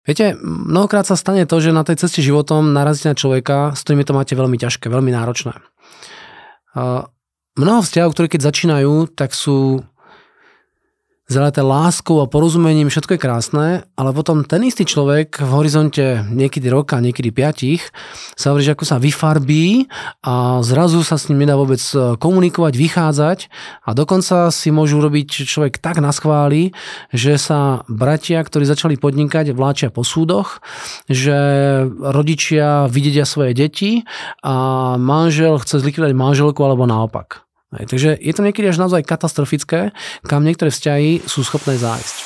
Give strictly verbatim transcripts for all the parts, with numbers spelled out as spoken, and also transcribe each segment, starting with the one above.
Viete, mnohokrát sa stane to, že na tej ceste životom narazíte na človeka, s ktorými to máte veľmi ťažké, veľmi náročné. Mnoho vzťahov, ktoré keď začínajú, tak sú zaleté láskou a porozumením, všetko je krásne, ale potom ten istý človek v horizonte niekedy roka, niekedy piatich sa hovorí, že ako sa vyfarbí a zrazu sa s ním nedá vôbec komunikovať, vychádzať a dokonca si môžu robiť človek tak naschváli, že sa bratia, ktorí začali podnikať, vláčia po súdoch, že rodičia videdia svoje deti a manžel chce zlikvidovať manželku alebo naopak. Hej, takže je to niekedy až naozaj katastrofické, kam niektoré vzťahy sú schopné zájsť.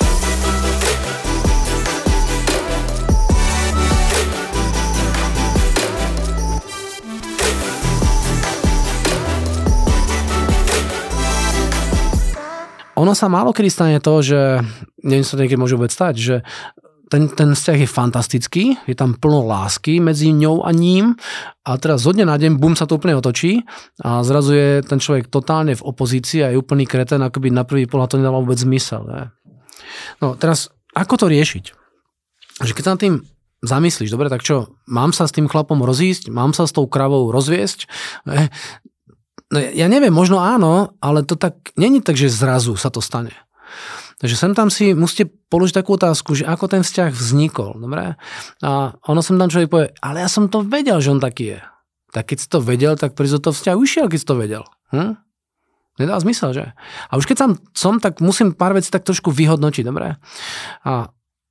Ono sa málo kedy stane to, že neviem, sa to niekedy môže vôbec stať, že Ten, ten vzťah je fantastický, je tam plno lásky medzi ňou a ním a teraz zo dňa na deň, bum, sa to úplne otočí a zrazu je ten človek totálne v opozícii a je úplný kreten, akoby na prvý pohľad to nedalo vôbec zmysel. Ne? No teraz, ako to riešiť? Že keď sa nad tým zamyslíš, dobre, tak čo, mám sa s tým chlapom rozísť, mám sa s tou kravou rozviesť? Ne? No ja neviem, možno áno, ale to tak, není tak, že zrazu sa to stane. Takže sem tam si musíte položiť takú otázku, že ako ten vzťah vznikol, dobre? A ono sem tam človek povie, ale ja som to vedel, že on taký je. Tak keď si to vedel, tak prísť do toho vzťahu išiel, keď si to vedel. Hm? Nedá zmysel, že? A už keď tam som, tak musím pár vecí tak trošku vyhodnotiť, dobre? A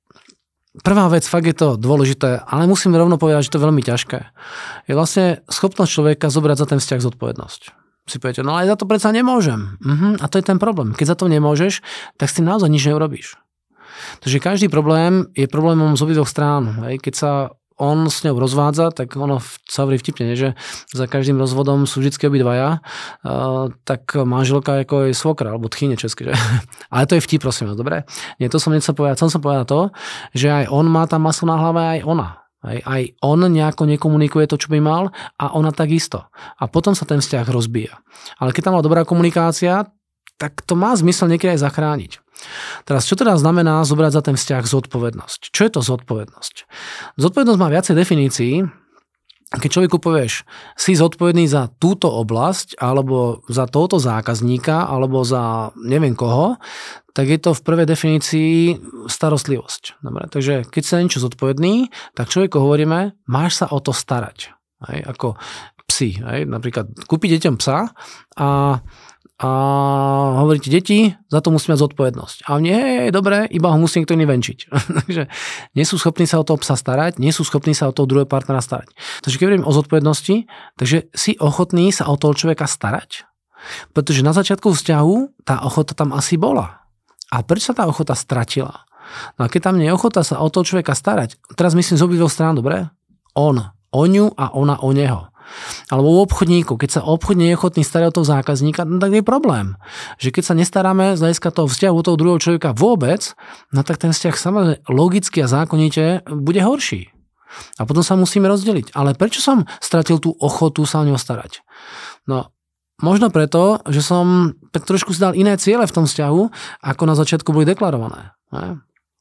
prvá vec, fakt je to dôležité, ale musím rovno povedať, že to je veľmi ťažké. Je vlastne schopnosť človeka zobrať za ten vzťah zodpovednosť. Si poviete, no ale za to predsa nemôžem. Uh-huh. A to je ten problém. Keď za to nemôžeš, tak s tým naozaj nič neurobíš. Takže každý problém je problémom z obidvoch strán. Hej. Keď sa on s ňou rozvádza, tak ono sa hovorí vtipne, že za každým rozvodom sú vždycky obidvaja, uh, tak manželka ako je svokra, alebo tchyne česky. Že? Ale to je vtip, prosím vás, dobre? Nie, to som nechcel povedať. Som som povedal to, že aj on má tam maslo na hlave, aj ona. Aj, aj on nejako nekomunikuje to, čo by mal a ona takisto. A potom sa ten vzťah rozbíja. Ale keď tam bola dobrá komunikácia, tak to má zmysel niekedy aj zachrániť. Teraz, čo teda znamená zobrať za ten vzťah zodpovednosť? Čo je to zodpovednosť? Zodpovednosť má viacej definícií. Keď človeku povieš, si zodpovedný za túto oblasť, alebo za tohoto zákazníka, alebo za neviem koho, tak je to v prvej definícii starostlivosť. Dobre? Takže keď sa niečo zodpovedný, tak človeku hovoríme, máš sa o to starať. Hej? Ako psi. Hej? Napríklad kúpiť deťom psa a a hovoríte, deti, za to musí mať zodpovednosť. A nie, je dobré, iba ho musí niekto iný venčiť. Takže nie sú schopní sa o toho psa starať, nie sú schopní sa o toho druhého partnera starať. Takže keď hovorím o zodpovednosti, takže si ochotný sa o toho človeka starať? Pretože na začiatku vzťahu tá ochota tam asi bola. A prečo sa tá ochota stratila? No a keď tam nie je ochota sa o toho človeka starať, teraz myslím z obidvoch strán, dobre? On o ňu a ona o neho. Alebo u obchodníku, keď sa obchodne je ochotný starať o toho zákazníka, no tak je problém. Že keď sa nestaráme z hľadiska toho vzťahu toho druhého človeka vôbec, no tak ten vzťah samozrejme logicky a zákonite bude horší. A potom sa musíme rozdeliť. Ale prečo som stratil tú ochotu sa o ňo starať? No, možno preto, že som tak trošku si dal iné ciele v tom vzťahu, ako na začiatku boli deklarované. Ne?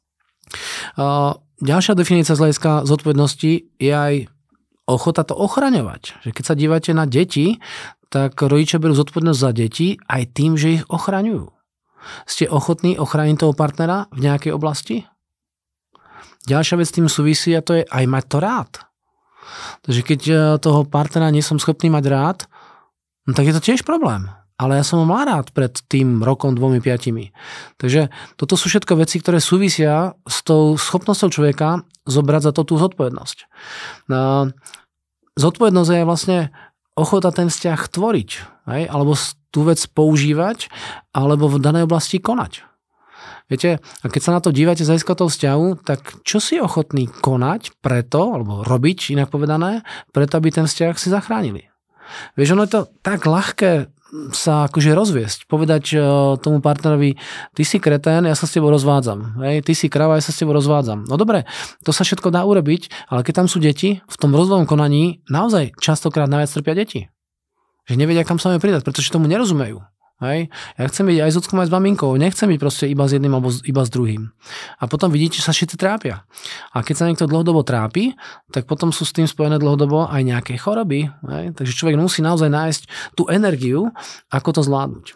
Ďalšia definícia z hľadiska zodpovednosti je aj ochota to ochraňovať. Že keď sa dívate na deti, tak rodičia berú zodpovednosť za deti aj tým, že ich ochraňujú. Ste ochotní ochrániť toho partnera v nejakej oblasti? Ďalšia vec s tým súvisí a to je aj mať to rád. Takže keď toho partnera nie som schopný mať rád, no tak je to tiež problém. Ale ja som ho mal rád pred tým rokom, dvomi, piatimi. Takže toto sú všetko veci, ktoré súvisia s tou schopnosťou človeka zobrať za to tú zodpovednosť. No, zodpovednosť je vlastne ochota ten vzťah tvoriť, hej? Alebo tú vec používať, alebo v danej oblasti konať. Viete, a keď sa na to dívate z hľadiska toho vzťahu, tak čo si ochotný konať preto, alebo robiť, inak povedané, preto, aby ten vzťah si zachránili. Vieš, ono je to tak ľahké sa akože rozviesť, povedať tomu partnerovi, ty si kretén, ja sa s tebou rozvádzam, hej, ty si krava, ja sa s tebou rozvádzam. No dobre, to sa všetko dá urobiť, ale keď tam sú deti, v tom rozvojovom konaní naozaj častokrát najviac trpia deti. Že nevedia, kam sa majú pridať, pretože tomu nerozumejú. Hej? Ja chcem byť aj s ockom, aj s maminkou. Nechcem byť proste iba s jedným alebo iba s druhým. A potom vidíte, že sa všetci trápia. A keď sa niekto dlhodobo trápi, tak potom sú s tým spojené dlhodobo aj nejaké choroby. Hej? Takže človek musí naozaj nájsť tú energiu, ako to zvládnuť.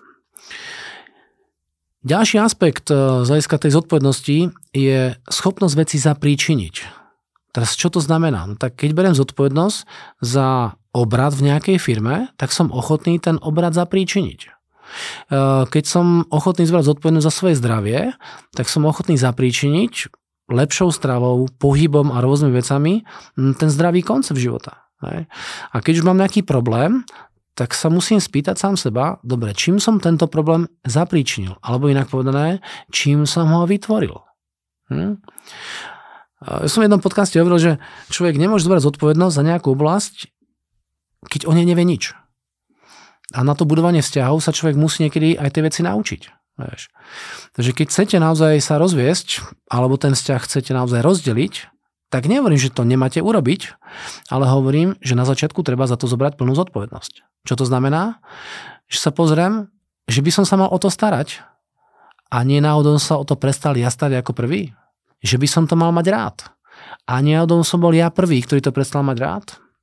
Ďalší aspekt z hľadiska tej zodpovednosti je schopnosť veci zapríčiniť. Teraz čo to znamená? No tak keď beriem zodpovednosť za obrad v nejakej firme, tak som ochotný ten obrad zapríčiniť. Keď som ochotný zbrať zodpovednosť za svoje zdravie, tak som ochotný zapríčiniť lepšou stravou, pohybom a rôznymi vecami ten zdravý koncept života. A keď už mám nejaký problém, tak sa musím spýtať sám seba, dobre, čím som tento problém zapríčinil? Alebo inak povedané, čím som ho vytvoril? Hm? Ja som v jednom podcaste hovoril, že človek nemôže zbrať zodpovednosť za nejakú oblasť, keď o nej nevie nič. A na to budovanie vzťahov sa človek musí niekedy aj tie veci naučiť. Vieš. Takže keď chcete naozaj sa rozviesť, alebo ten vzťah chcete naozaj rozdeliť, tak nehovorím, že to nemáte urobiť, ale hovorím, že na začiatku treba za to zobrať plnú zodpovednosť. Čo to znamená? Že sa pozriem, že by som sa mal o to starať a nie náhodou sa o to prestal ja starať ako prvý. Že by som to mal mať rád. A nie náhodou som bol ja prvý, ktorý to prestal mať rád.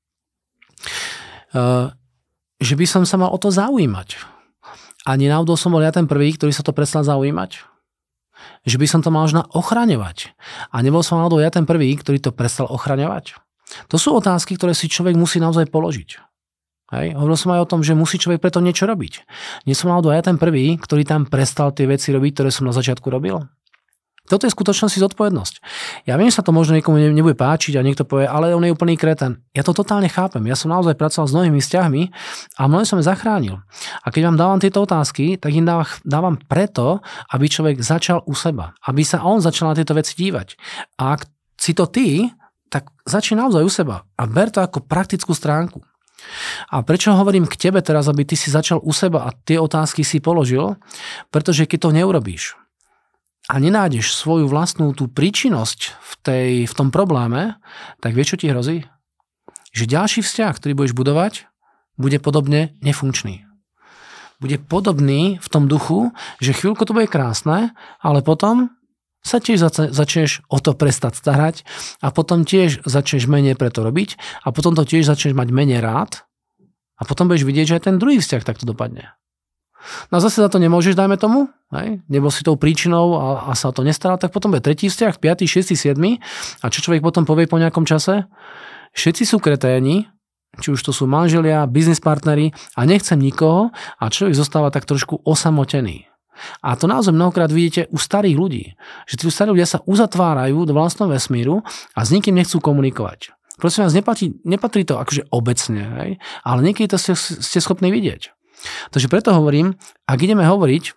Uh, že by som sa mal o to zaujímať. A nenáhodou som bol ja ten prvý, ktorý sa to prestal zaujímať. Že by som to mal možno ochraňovať. A nebol som náhodou ja ten prvý, ktorý to prestal ochraňovať. To sú otázky, ktoré si človek musí naozaj položiť. Hej? Hovoril som aj o tom, že musí človek preto niečo robiť. Nie som náhodou ja ten prvý, ktorý tam prestal tie veci robiť, ktoré som na začiatku robil. Toto je v skutočnosti zodpovednosť. Ja viem, že sa to možno niekomu nebude páčiť a niekto povie, ale on je úplný kreten. Ja to totálne chápem. Ja som naozaj pracoval s mnohými vzťahmi a mnohé som ich zachránil. A keď vám dávam tieto otázky, tak im dávam preto, aby človek začal u seba. Aby sa on začal na tieto veci dívať. A ak si to ty, tak začni naozaj u seba. A ber to ako praktickú stránku. A prečo hovorím k tebe teraz, aby ty si začal u seba a tie otázky si položil? Pretože keď to neurobíš, a nenájdeš svoju vlastnú tú príčinnosť v, tej, v tom probléme, tak vieš, čo ti hrozí? Že ďalší vzťah, ktorý budeš budovať, bude podobne nefunkčný. Bude podobný v tom duchu, že chvíľku to bude krásne, ale potom sa tiež zač- začneš o to prestať starať a potom tiež začneš menej preto robiť a potom to tiež začneš mať menej rád a potom budeš vidieť, že aj ten druhý vzťah takto dopadne. No a zase za to nemôžeš, dajme tomu, hej? Nebol si tou príčinou a, a sa o to nestaral, tak potom bude tretí vzťah, piatý, šiestý, siedmy a čo človek potom povie po nejakom čase? Všetci sú kreténi, či už to sú manželia, biznis partneri a nechcem nikoho a človek zostáva tak trošku osamotený. A to naozaj mnohokrát vidíte u starých ľudí, že tí starí ľudia sa uzatvárajú do vlastného vesmíru a s nikým nechcú komunikovať. Prosím vás, nepatrí, nepatrí to akože obecne, hej? Ale niekedy to ste, ste schopní vidieť. Takže preto hovorím, ak ideme hovoriť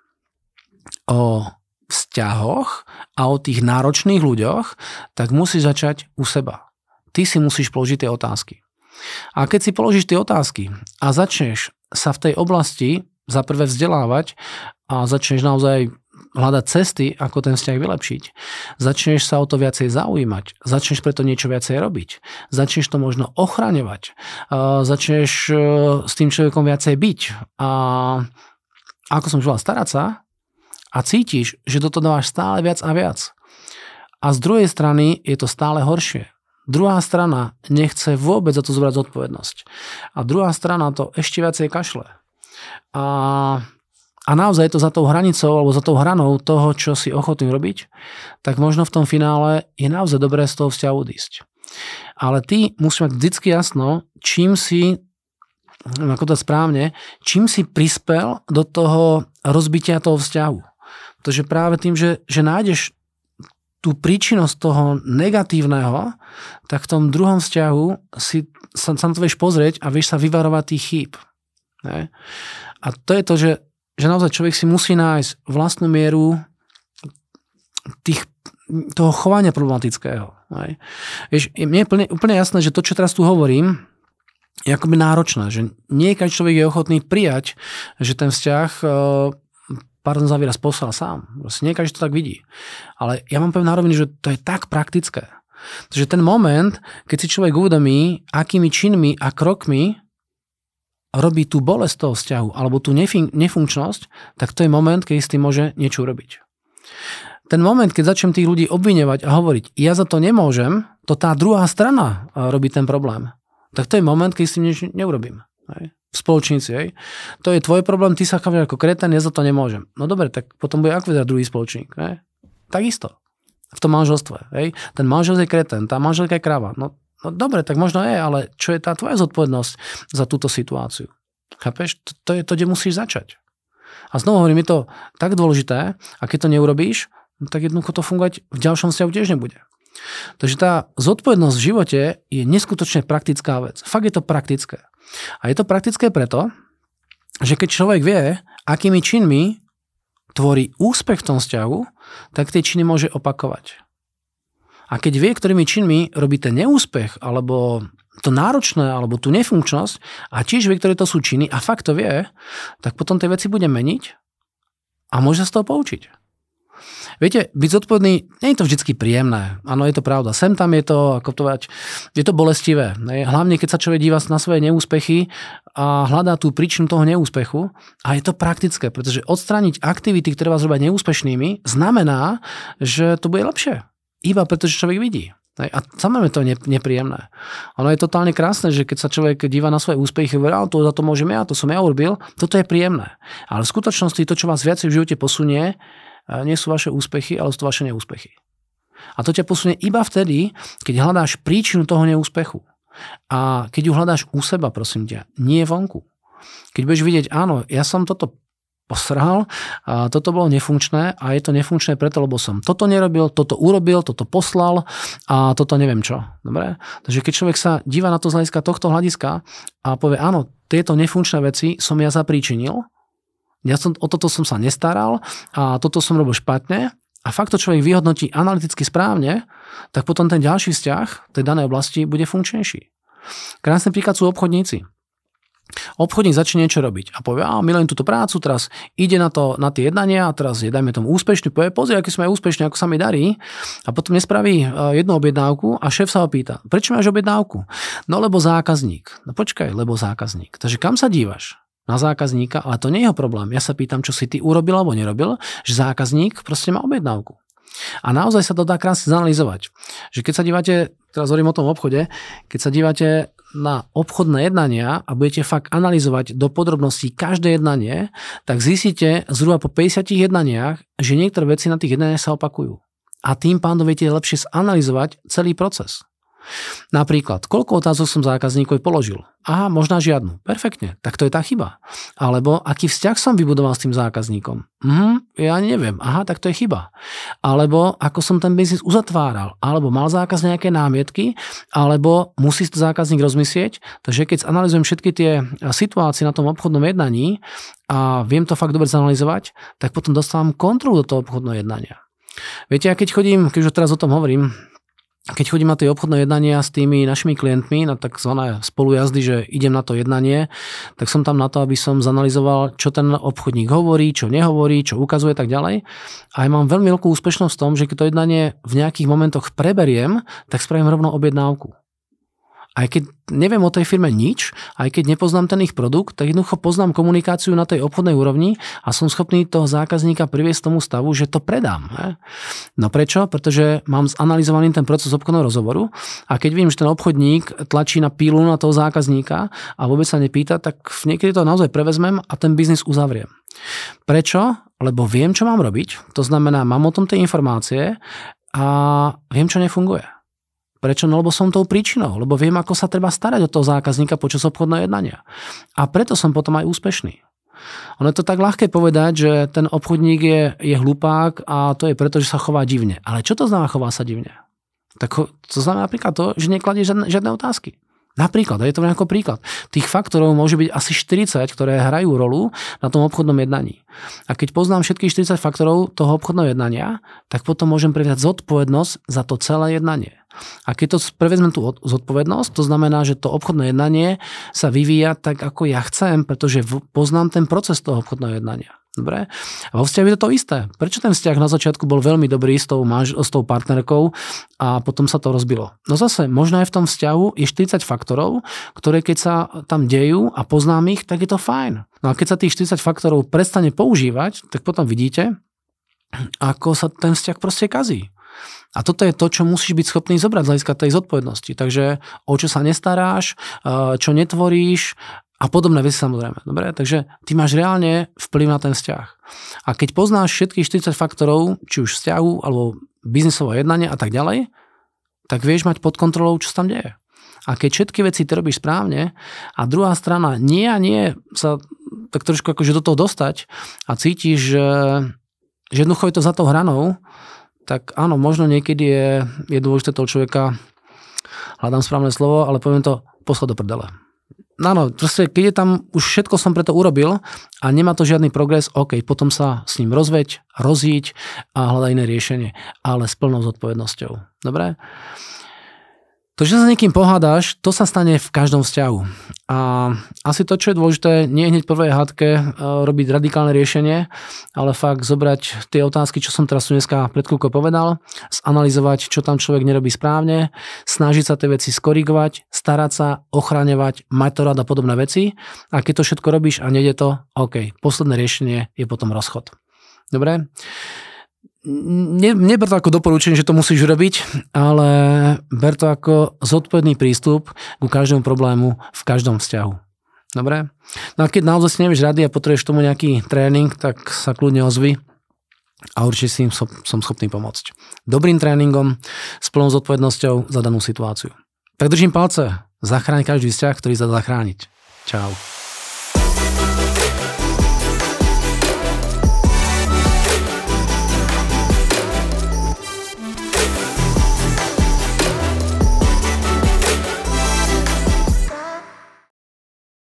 o vzťahoch a o tých náročných ľuďoch, tak musíš začať u seba. Ty si musíš položiť tie otázky. A keď si položíš tie otázky a začneš sa v tej oblasti za prvé vzdelávať a začneš naozaj hľadať cesty, ako ten vzťah vylepšiť. Začneš sa o to viacej zaujímať. Začneš preto niečo viacej robiť. Začneš to možno ochraňovať. Začneš s tým človekom viacej byť. A ako som povedal, starať sa a cítiš, že toto dávaš stále viac a viac. A z druhej strany je to stále horšie. Druhá strana nechce vôbec za to zobrať zodpovednosť. A druhá strana to ešte viacej kašle. A A naozaj je to za tou hranicou alebo za tou hranou toho, čo si ochotný robiť, tak možno v tom finále je naozaj dobré z toho vzťahu odísť. Ale ty musíš mať vždycky jasno, čím si, ako to správne, čím si prispel do toho rozbitia toho vzťahu. Pretože práve tým, že, že nájdeš tú príčinnosť toho negatívneho, tak v tom druhom vzťahu si sa, sa to vieš pozrieť a vieš sa vyvarovať tých chýb. Ne? A to je to, že že naozaj človek si musí nájsť vlastnú mieru tých, toho chovania problematického. Vieš, mne je plne, úplne jasné, že to, čo teraz tu hovorím, je akoby náročné, že nie každý človek je ochotný prijať, že ten vzťah, pardon za výraz, poslal sám. Nie každý to tak vidí. Ale ja mám povedať na rovinu, že to je tak praktické. Takže ten moment, keď si človek uvedomí, akými činmi a krokmi robí tú bolesť toho vzťahu alebo tú nefin- nefunkčnosť, tak to je moment, keď s tým môže niečo urobiť. Ten moment, keď začnem tých ľudí obviňovať a hovoriť, ja za to nemôžem, to tá druhá strana robí ten problém. Tak to je moment, keď s tým nič neurobím. Hej. V spoločníci. Hej. To je tvoj problém, ty sa chápeš ako kretén, ja za to nemôžem. No dobre, tak potom bude ako vyzerať druhý spoločník. Hej. Takisto. V tom manželstve. Hej. Ten manžel je kretén, tá manželka je kráva. No, no dobre, tak možno je, ale čo je tá tvoja zodpovednosť za túto situáciu? Chápeš? To, to je to, kde musíš začať. A znovu hovorím, je to tak dôležité, a keď to neurobíš, no tak jednoducho to fungovať v ďalšom vzťahu tiež nebude. Takže tá zodpovednosť v živote je neskutočne praktická vec. Fakt je to praktické. A je to praktické preto, že keď človek vie, akými činmi tvorí úspech v tom vzťahu, tak tie činy môže opakovať. A keď vie, ktorými činmi robí ten neúspech, alebo to náročné, alebo tú nefunkčnosť, a tiež vie, ktoré to sú činy, a fakt to vie, tak potom tie veci bude meniť a môže sa z toho poučiť. Viete, byť zodpovedný, nie je to vždycky príjemné. Áno, je to pravda. Sem tam je to, ako to povedať, je to bolestivé. Hlavne, keď sa človek díva na svoje neúspechy a hľadá tú príčinu toho neúspechu. A je to praktické, pretože odstrániť aktivity, ktoré vás robia neúspešnými, znamená, že to bude lepšie. Iba pretože človek vidí. A samozrejme to je nepríjemné. Ono je totálne krásne, že keď sa človek díva na svoje úspechy, hovorí, to za to môžem ja, to som ja urobil, toto je príjemné. Ale v skutočnosti to, čo vás viacej v živote posunie, nie sú vaše úspechy, ale sú to vaše neúspechy. A to ťa posunie iba vtedy, keď hľadáš príčinu toho neúspechu. A keď ju hľadáš u seba, prosím ťa, nie vonku. Keď budeš vidieť, áno, ja som toto posrhal, a toto bolo nefunkčné a je to nefunkčné preto, lebo som toto nerobil, toto urobil, toto poslal a toto neviem čo. Dobre? Takže keď človek sa díva na to z hľadiska tohto hľadiska a povie, áno, tieto nefunkčné veci som ja zapríčinil, ja som, o toto som sa nestaral a toto som robil špatne a fakt to človek vyhodnotí analyticky správne, tak potom ten ďalší vzťah tej danej oblasti bude funkčnejší. Krásny príklad sú obchodníci. Obchodník začne niečo robiť a povie, a milujem túto prácu, teraz ide na, to, na tie jednania a teraz je, dajme tomu úspešný, povie, pozri, aký som aj úspešný, ako sa mi darí a potom nespraví jednu objednávku a šéf sa ho pýta, prečo máš objednávku? No lebo zákazník. No počkaj, lebo zákazník. Takže kam sa dívaš? Na zákazníka, ale to nie je jeho problém. Ja sa pýtam, čo si ty urobil alebo nerobil, že zákazník proste má objednávku. A naozaj sa to dá krásne zanalizovať. Že keď sa dívate, teraz hovorím o tom obchode, keď sa dívate na obchodné jednania a budete fakt analyzovať do podrobností každé jednanie, tak zistíte zhruba po päťdesiatich jednaniach, že niektoré veci na tých jednaniach sa opakujú. A tým pádom viete lepšie zanalizovať celý proces. Napríklad, koľko otázok som zákazníkovi položil? Aha, možná žiadnu. Perfektne, tak to je tá chyba. Alebo aký vzťah som vybudoval s tým zákazníkom? Mhm, ja neviem. Aha, tak to je chyba. Alebo ako som ten biznis uzatváral? Alebo mal zákaz nejaké námietky? Alebo musí to zákazník rozmyslieť? Takže keď analyzujem všetky tie situácie na tom obchodnom jednaní a viem to fakt dobre zanalizovať, tak potom dostávam kontrolu do toho obchodného jednania. Viete, ja keď chodím, keď už teraz o tom hovorím, keď chodím na tie obchodné jednania s tými našimi klientmi, na takzvané spolujazdy, že idem na to jednanie, tak som tam na to, aby som zanalizoval, čo ten obchodník hovorí, čo nehovorí, čo ukazuje tak ďalej. A ja mám veľmi veľkú úspešnosť v tom, že keď to jednanie v nejakých momentoch preberiem, tak spravím rovno objednávku. Aj keď neviem o tej firme nič, aj keď nepoznám ten ich produkt, tak jednoducho poznám komunikáciu na tej obchodnej úrovni a som schopný toho zákazníka priviesť tomu stavu, že to predám. He? No prečo? Pretože mám zanalizovaný ten proces obchodného rozhovoru a keď vidím, že ten obchodník tlačí na pílu na toho zákazníka a vôbec sa nepýta, tak niekedy to naozaj prevezmem a ten biznis uzavriem. Prečo? Lebo viem, čo mám robiť, to znamená, mám o tom tie informácie a viem, čo nefunguje. Prečo? No lebo som tou príčinou, lebo viem, ako sa treba starať o toho zákazníka počas obchodného jednania. A preto som potom aj úspešný. Ono je to tak ľahké povedať, že ten obchodník je, je hlupák a to je preto, že sa chová divne. Ale čo to znamená chová sa divne? Tak to znamená napríklad to, že nekladie žiadne, žiadne otázky. Napríklad, je to nejaký príklad. Tých faktorov môže byť asi štyridsať, ktoré hrajú rolu na tom obchodnom jednaní. A keď poznám všetkých štyridsať faktorov toho obchodného jednania, tak potom môžem prevziať zodpovednosť za to celé jednanie. A keď to prevezmem tú zodpovednosť, to znamená, že to obchodné jednanie sa vyvíja tak, ako ja chcem, pretože poznám ten proces toho obchodného jednania. Dobre? A vo vzťahu je to to isté. Prečo ten vzťah na začiatku bol veľmi dobrý s tou, manž- s tou partnerkou a potom sa to rozbilo? No zase, možno aj v tom vzťahu je štyridsať faktorov, ktoré keď sa tam dejú a poznám ich, tak je to fajn. No a keď sa tých štyridsať faktorov prestane používať, tak potom vidíte, ako sa ten vzťah proste kazí. A toto je to, čo musíš byť schopný zobrať z hľadiska tej zodpovednosti. Takže o čo sa nestaráš, čo netvoríš, a podobné veci samozrejme. Dobre? Takže ty máš reálne vplyv na ten vzťah. A keď poznáš všetkých štyridsať faktorov, či už vzťahu, alebo biznisové jednanie a tak ďalej, tak vieš mať pod kontrolou, čo sa tam deje. A keď všetky veci ty robíš správne a druhá strana nie a nie sa tak trošku akože do toho dostať a cítiš, že, že jednoducho je to za tou hranou, tak áno, možno niekedy je, je dôležité toho človeka, hľadám správne slovo, ale poviem to, poslať do prdele. Áno, proste, keď je tam, už všetko som preto urobil a nemá to žiadny progres, OK, potom sa s ním rozveď, rozíď a hľadaj iné riešenie, ale s plnou zodpovednosťou. Dobre? To, že sa s niekým pohádaš, to sa stane v každom vzťahu. A asi to, čo je dôležité, nie hneď prvej hádke robiť radikálne riešenie, ale fakt zobrať tie otázky, čo som teraz tu dneska pred chvíľkou povedal, zanalizovať, čo tam človek nerobí správne, snažiť sa tie veci skorigovať, starať sa, ochraňovať, mať to rád a podobné veci. A keď to všetko robíš a nejde to, OK, posledné riešenie je potom rozchod. Dobre? Ne, neber to ako doporučenie, že to musíš robiť, ale ber to ako zodpovedný prístup ku každému problému v každom vzťahu. Dobre? No a keď naozaj si nevieš rady a potrebuješ tomu nejaký tréning, tak sa kľudne ozvi a určite si im som, som schopný pomôcť. Dobrým tréningom, s plnou zodpovednosťou za danú situáciu. Tak držím palce, zachráň každý vzťah, ktorý sa dá zachrániť. Čau.